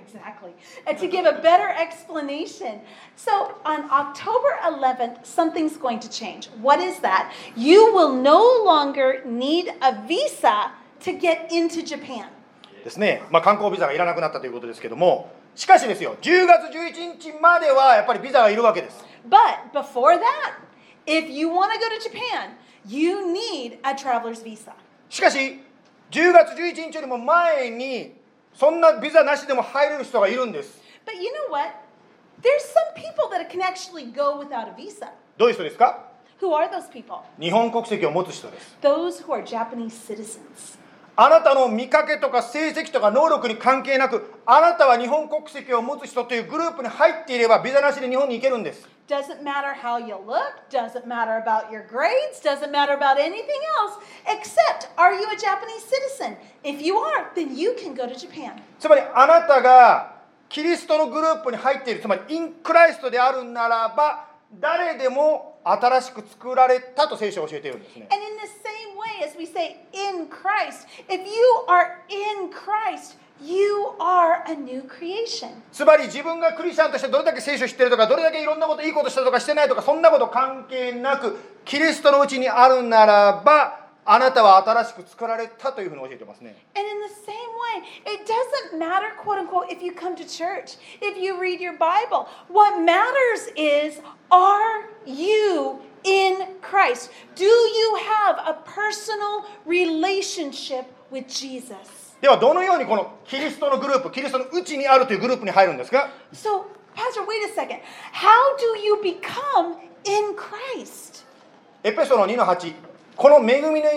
to give a better explanation, so on October 11th, something's going to change. What is that? You will no longer need a visa to get into Japan. ですね。観光ビザがいらなくなったということですけども、しかしですよ、10月11日まではやっぱりビザがいるわけです。 But before that, if you want to go to Japan, you need a traveler's visa. しかし、10月11日よりも前に、そんなビザなしでも入れる人がいるんです。 But you know what? There's some people that can actually go without a visa. どういう人ですか？ Who are those people? 日本国籍を持つ人です。 Those who are Japanese citizens. あなたの見かけとか成績とか能力に関係なく、あなたは日本国籍を持つ人というグループに入っていれば、ビザなしで日本に行けるんです。 Doesn't matter how you look, doesn't matter about your grades, doesn't matter about anything else, except are you a Japanese citizen? If you are, then you can go to Japan. つまりあなたがキリストのグループに入っている、つまりインクライストであるならば、誰でも新しく作られたと聖書は教えているんですね。 And in the same way as we say in Christ, if you are in Christ, you are a new creation. つまり自分がクリスチャンとしてどれだけ聖書を知っているとか、どれだけいろんなこといいことしたとかしてないとか、そんなこと関係なく、キリストのうちにあるならば、あなたは新しく作られたというふうに教えてますね。 And in the same way, it doesn't matter, quote unquote, if you come to church, if you read your Bible. What matters is, are you in Christ? Do you have a personal relationship with Jesus? ではどのようにこのキリストのグループ、キリストのうちにあるというグループに入るんですか？ So, Pastor, wait a second. How do you become in Christ? エペソの2の8、この恵みのゆえに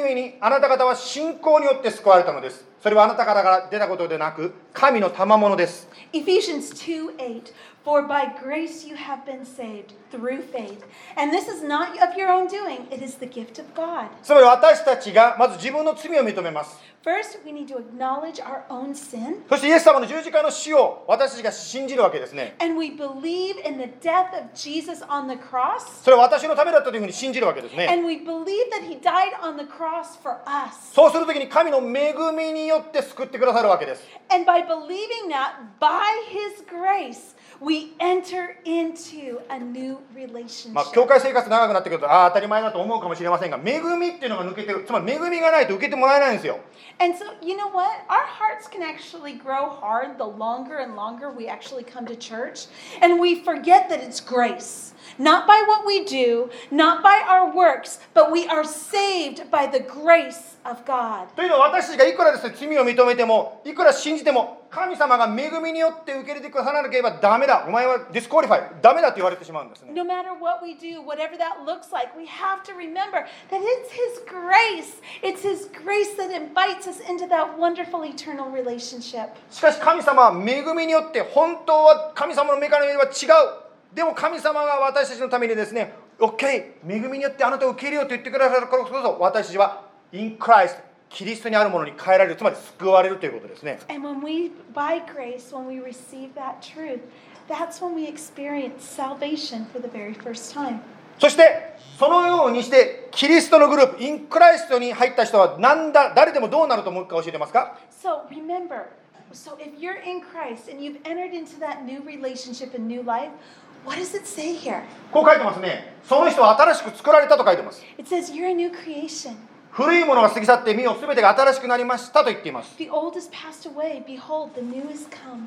あなた方は信仰によって救われたのです。それはあなた方から出たことでなく、神の賜物です。 Ephesians 2:8 For by grace you have been saved through faith. And this is not of your own doing, it is the gift of God. つまり私たちがまず自分の罪を認めます。 First, we need to acknowledge our own sin. そしてイエス様の十字架の死を私たちが信じるわけですね。 And we believe in the death of Jesus on the cross. それは私のためだったというふうに信じるわけですね。 And we believe that he died on the cross for us. そうするときに神の恵みによって救ってくださるわけです。 And by believing that, by his grace, we enter into a new relationship. 教会生活長くなってくると当たり前だと思うかもしれませんが、恵みっていうのが抜けてる。つまり恵みがないと受けてもらえないんですよ。 And so, you know what? Our hearts can actually grow hard the longer and longer we actually come to church. And we forget that it's grace. Not by what we do, not by our works, but we are saved by the grace of God. というのは私たちがいくらですね、罪を認めても、いくら信じても、神様が恵みによって受け入れてくださらなければダメだ。お前はディスクオリファイ、ダメだと言われてしまうんですね。 No matter what we do, whatever that looks like, we have to remember that it's his grace. It's his grace that invites us into that wonderful eternal relationship. しかし神様は恵みによって本当は神様の目から見れば違う。でも神様が私たちのためにですね、OK、恵みによってあなたを受け入れようと言ってくださるからこそ、私たちは in Christ、キリストにあるものに変えられる、つまり救われるということですね。 And when we, by grace, when we receive that truth, that's when we experience salvation for the very first time. そしてそのようにしてキリストのグループ、in Christに入った人は誰でもどうなると思うか教えてますか？ So remember, so if you're in Christ and you've entered into that new relationship and new life, what does it say here? こう書いてますね。その人は新しく作られたと書いてます。 It says you're a new creation. 古いものが過ぎ去って見よ、すべてが新しくなりましたと言っています。 The old is passed away. Behold, the new is come.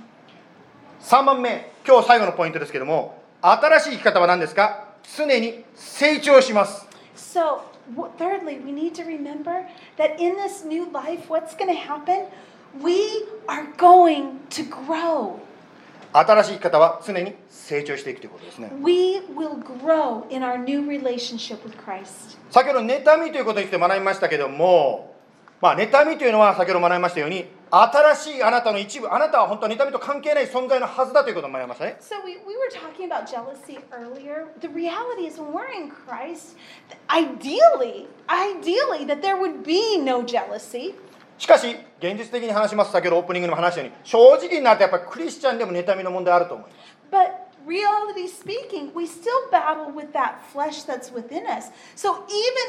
3番目、今日最後のポイントですけども、新しい生き方は何ですか？常に成長します。 So, thirdly, we need to remember that in this new life, what's going to happen? We are going to grow. 新しい生き方は常に成長していくということですね。 We will grow in our new relationship with Christ. 先ほど妬みということについて学びましたけども、妬みというのは先ほど学びましたように、新しいあなたの一部、あなたは本当は妬みと関係ない存在のはずだということを学びましたね。 So we were talking about jealousy earlier. The reality is when we're in Christ, ideally, that there would be no jealousy. しかし、現実的に話します。先ほどオープニングでも話したように、正直になってやっぱりクリスチャンでも妬みの問題あると思います。 But reality speaking, we still battle with that flesh that's within us. So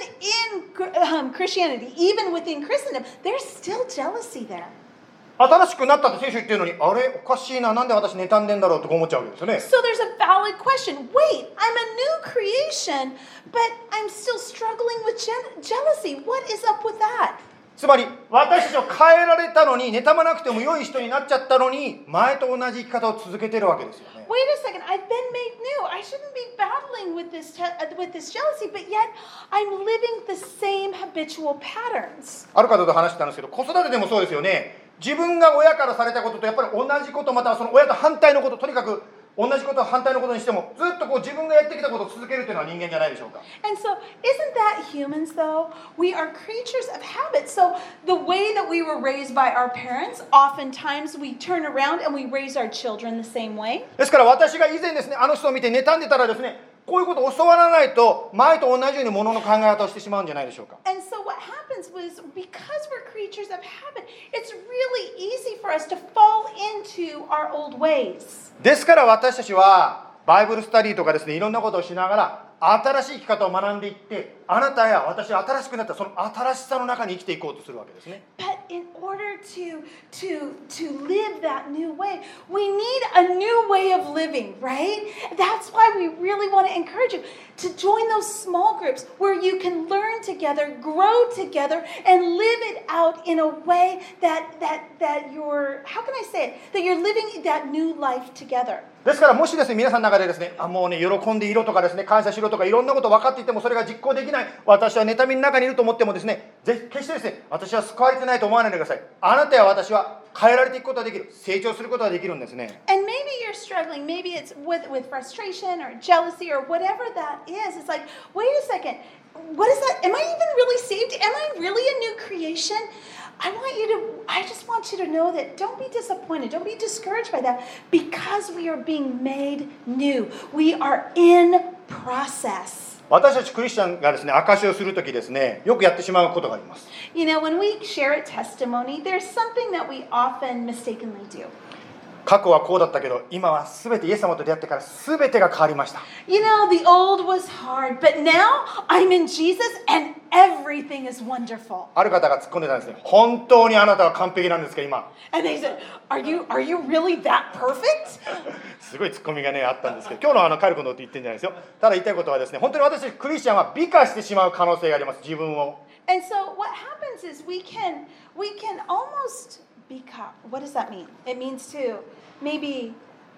even in Christianity, even within Christendom, there's still jealousy there. 新しくなったって聖書言ってるのに、あれおかしいな、なんで私妬んでんだろうと思っちゃうわけですよね。 So there's a valid question. Wait, I'm a new creation, but I'm still struggling with jealousy. What is up with that? つまり私たちを変えられたのに、妬まなくても良い人になっちゃったのに、前と同じ生き方を続けてるわけですよね。 Wait a second, I've been made new. I shouldn't be battling with this jealousy, but yet I'm living the same habitual patterns. ある方と話してたんですけど、子育てでもそうですよね。自分が親からされたこととやっぱり同じこと、またはその親と反対のこと、とにかく同じことを反対のことにしてもずっと自分がやってきたことを続けるというのは人間じゃないでしょうか。 And so, isn't that humans though? We are creatures of habit. So, the way that we were raised by our parents, oftentimes we turn around and we raise our children the same way. ですから私が以前ですね、あの人を見て妬んでたらですね、こういうことを教わらないと前と同じようにものの考え方をしてしまうんじゃないでしょうか。 And so what happens was, because we're creatures of habit, it's really easy for us to fall into our old ways. ですから私たちはバイブルスタディとかですね、いろんなことをしながら新しい生き方を学んでいって、あなたや私は新しくなったその新しさの中に生きていこうとするわけですね。 But in order to live that new way, we need a new way of living, right? That's why we really want to encourage you to join those small groups where you can learn together, grow together, and live it out in a way that you're, how can I say it? That you're living that new life together. ですからもしですね、皆さんの中でですね、もうね、喜んでいろとかですね、感謝しろとかいろんなこと分かっていてもそれが実行できない、私は妬みの中にいると思ってもですね、決してですね、私は救われてないと思わないでください。あなたや私は変えられていくことができる、成長することができるんですね。 And maybe you're struggling, maybe it's with frustration or jealousy or whatever that is. It's like, wait a second, what is that? Am I even really saved? Am I really a new creation, I just want you to know that don't be disappointed. Don't be discouraged by that because we are being made new. We are in process. 私たちクリスチャンがですね、証しをするときですね、よくやってしまうことがあります。 You know, when we share a testimony, there's something that we often mistakenly do. 過去はこうだったけど、今はすべてイエス様と出会ってからすべてが変わりました。 You know, the old was hard, but now I'm in Jesus and everything is wonderful. ある方が突っ込んでたんですね。本当にあなたは完璧なんですか、今。 And they said, are you really that perfect? すごい突っ込みがね、あったんですけど、今日のカルコのって言ってるんじゃないですよ。ただ言いたいことはですね、本当に私たちクリスチャンは美化してしまう可能性があります、自分を。 And so what happens is we can almost what does that mean? It means to maybe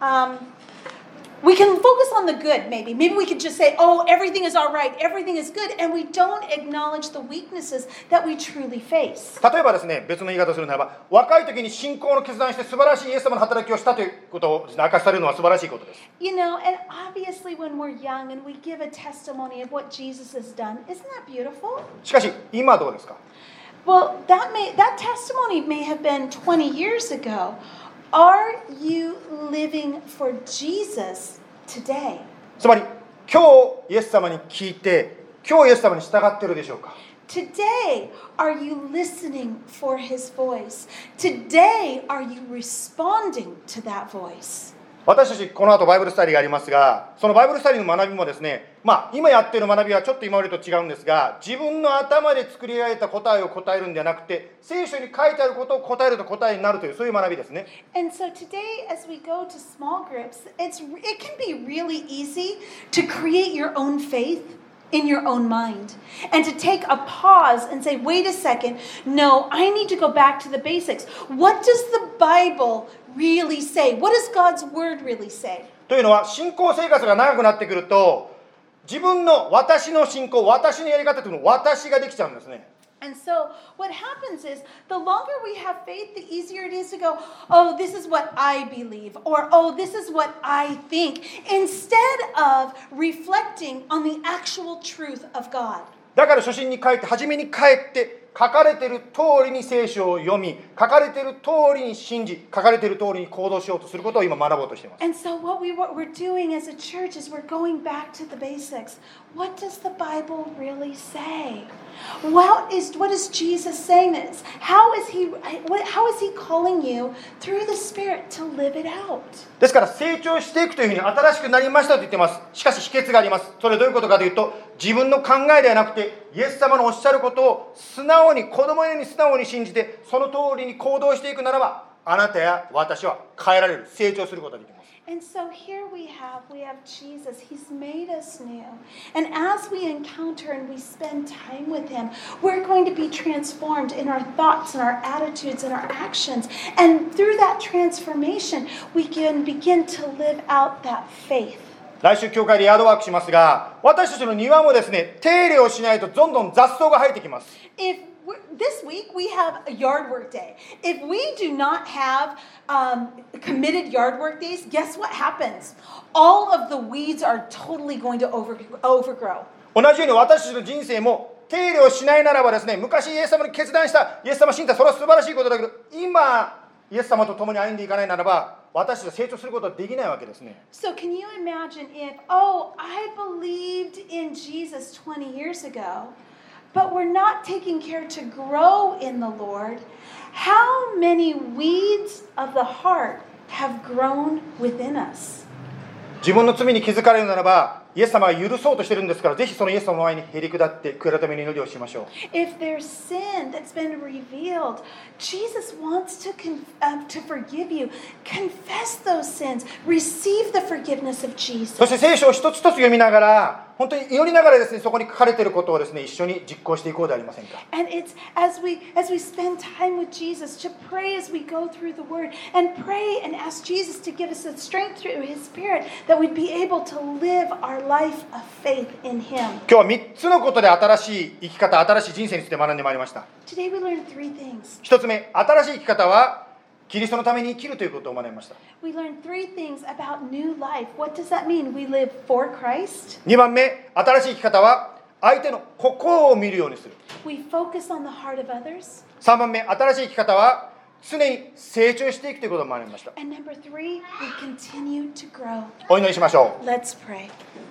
we can focus on the good, maybe. Maybe we could just say, oh, everything is all right, everything is good, and we don't acknowledge the weaknesses that we truly face. 例えばですね、別の言い方をするならば、若い時に信仰の決断して素晴らしいイエス様の働きをしたということをですね、明かしされるのは素晴らしいことです。 You know, and obviously when we're young and we give a testimony of what Jesus has done, isn't that beautiful? しかし、今どうですか？ Well, that testimony may have been 20 years ago. Are you living for Jesus today? つまり、今日イエス様に聞いて、今日イエス様に従っているでしょうか？ Today, are you listening for His voice? Today, are you responding to that voice? 私たちこの後バイブルスタディがありますが、そのバイブルスタディの学びもですね、今やっている学びはちょっと今までと違うんですが、自分の頭で作り上げた答えを答えるんではなくて、聖書に書いてあることを答えると答えになるという、そういう学びですね。 And so today, as we go to small groups, it can be really easy to create your own faith in your own mind and to take a pause and say, wait a second, no, I need to go back to the basics. What does the Bible really say? What does God's word really say? というのは、信仰生活が長くなってくると、自分の私の信仰、私のやり方というのを私ができちゃうんですね。 And so what happens is the longer we have faith, the easier it is to go, oh, this is what I believe, or oh, this is what I think, instead of reflecting on the actual truth of God. だから初心に帰って、初めに帰って、書かれている通りに聖書を読み、書かれている通りに信じ、書かれている通りに行動しようとすることを今学ぼうとしています。 And so what we're doing as a church is we're going back to the basics. What does the Bible really say? What is Jesus saying this? How is he calling you through the Spirit to live it out? ですから成長していくというふうに新しくなりましたと言っています。しかし秘訣があります。それはどういうことかというと、自分の考えではなくてイエス様のおっしゃることを素直に、子供のように素直に信じて、その通りに行動していくならば、あなたや私は変えられる、成長することができます。 And so here we have Jesus. He's made us new. And as we encounter and we spend time with Him, we're going to be transformed in our thoughts and our attitudes and our actions. And through that transformation, we can begin to live out that faith. 来週教会でヤードワークしますが、私たちの庭もですね、手入れをしないとどんどん雑草が生えてきます。 This week we have a yard work day. If we do not have committed yard work days, guess what happens? All of the weeds are totally going to overgrow. 同じように私たちの人生も手入れをしないならばですね、昔イエス様に決断したイエス様信じた、それは素晴らしいことだけど、今イエス様と共に歩んでいかないならば、私たちは成長することはできないわけですね。 So can you imagine if, oh, I believed in Jesus 20 years ago, but we're not taking care to grow in the Lord, how many weeds of the heart have grown within us? 自分の罪に気づかれるならば、イエス様が許そうとしているんですから、ぜひそのイエス様の前にへり下って悔い改めの祈りをしましょう。 If there's sin that's been revealed, Jesus wants to forgive you. Confess those sins. Receive the forgiveness of Jesus. そして聖書を一つ一つ読みながら、本当に祈りながらですね、そこに書かれていることをですね、一緒に実行していこうではありませんか。 And it's as we spend time with Jesus, to pray as we go through the Word, and pray and ask Jesus to give us the strength through His Spirit that we'd be able to live our life of faith in Him. 今日は3つのことで新しい生き方、新しい人生について学んでまいりました。 Today we learned 3 things. 1つ目、新しい生き方はキリストのために生きるということを学びました。 We learned 3 things about new life. What does that mean? We live for Christ. 2番目、新しい生き方は相手の心を見るようにする。 We focus on the heart of others. 3番目、新しい生き方は常に成長していくということを学びました。 And number 3, we continue to grow. お祈りしましょう。 Let's pray.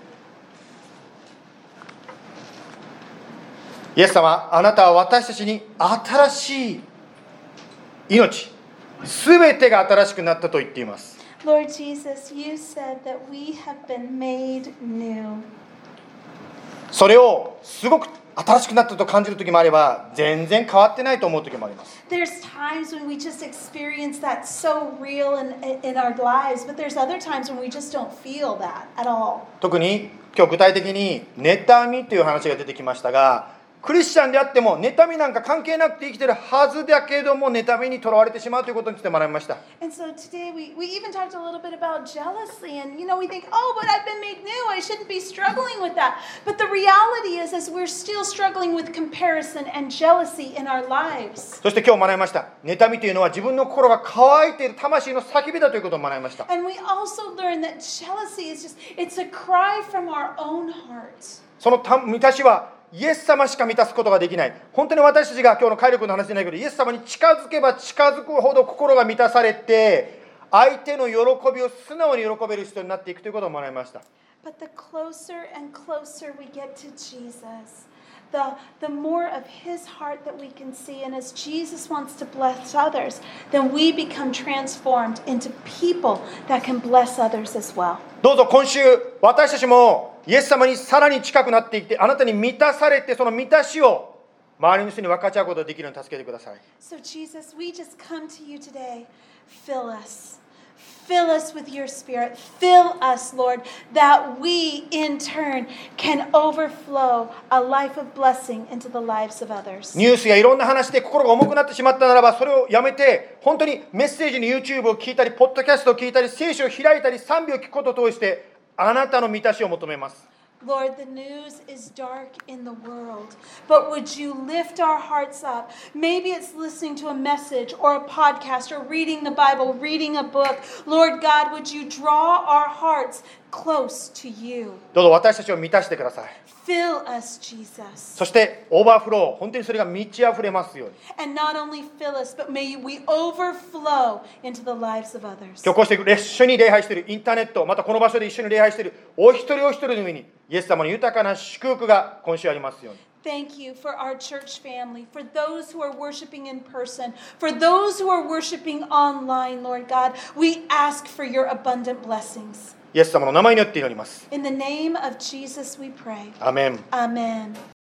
イエス様、あなたは私たちに新しい命、すべてが新しくなったと言っています。 Lord Jesus, you said that we have been made new. それをすごく新しくなったと感じる時もあれば、全然変わってないと思う時もあります。 There's times when we just experience that so real in our lives, but there's other times when we just don't feel that at all. 特に今日具体的に妬みという話が出てきましたが、クリスチャンであっても妬みなんか関係なくて生きてるはずだけども、妬みにとらわれてしまうということについて学びました。 And so today we even talked a little bit about jealousy, and we think, oh, but I've been made new, I shouldn't be struggling with that. But the reality is we're still struggling with comparison and jealousy in our lives. そして今日学びました。妬みというのは自分の心が乾いている魂の叫びだということを学びました。 And we also learned that jealousy is it's a cry from our own hearts. その満たしはイエス様しか満たすことができない。本当に私たちが今日の快力の話じゃないけど、イエス様に近づけば近づくほど心が満たされて、相手の喜びを素直に喜べる人になっていくということを学びました。 But the closer and closer we get to Jesus, the more of his heart that we can see. And as Jesus wants to bless others, then we become transformed into people that can bless others as well. どうぞ今週、私たちもイエス様にさらに近くなっていって、あなたに満たされて、その満たしを周りの人に分かち合うことができるように助けてください。 So Jesus, we just come to you today. Fill us. Fill us with your spirit. Fill us, Lord, that we in turn can overflow a life of blessing into the lives of others. ニュースやいろんな話で心が重くなってしまったならば、それをやめて、本当にメッセージに YouTube を聞いたり、ポッドキャストを聞いたり、聖書を開いたり、賛美を聞くことを通して、あなたの満たしを求めます。 Lord, the news is dark in the world, but would you lift our hearts up? Maybe it's listening to a message or a podcast or reading the Bible, reading a book. Lord God, would you draw our hearts close to you? どうぞ私たちを満たしてください。 Fill us, Jesus. そしてオーバーフロー、本当にそれが満ち溢れますように。 And not only fill us, but may we overflow into the lives of others. 今日こうして一緒に礼拝しているインターネット、またこの場所で一緒に礼拝しているお一人お一人の上に、イエス様の豊かな祝福が今週ありますように。 Thank you for our church family, for those who are worshiping in person, for those who are worshiping online, Lord God. We ask for your abundant blessings. イエス様の名前によって祈ります。 In the name of Jesus we pray. アメン。 Amen.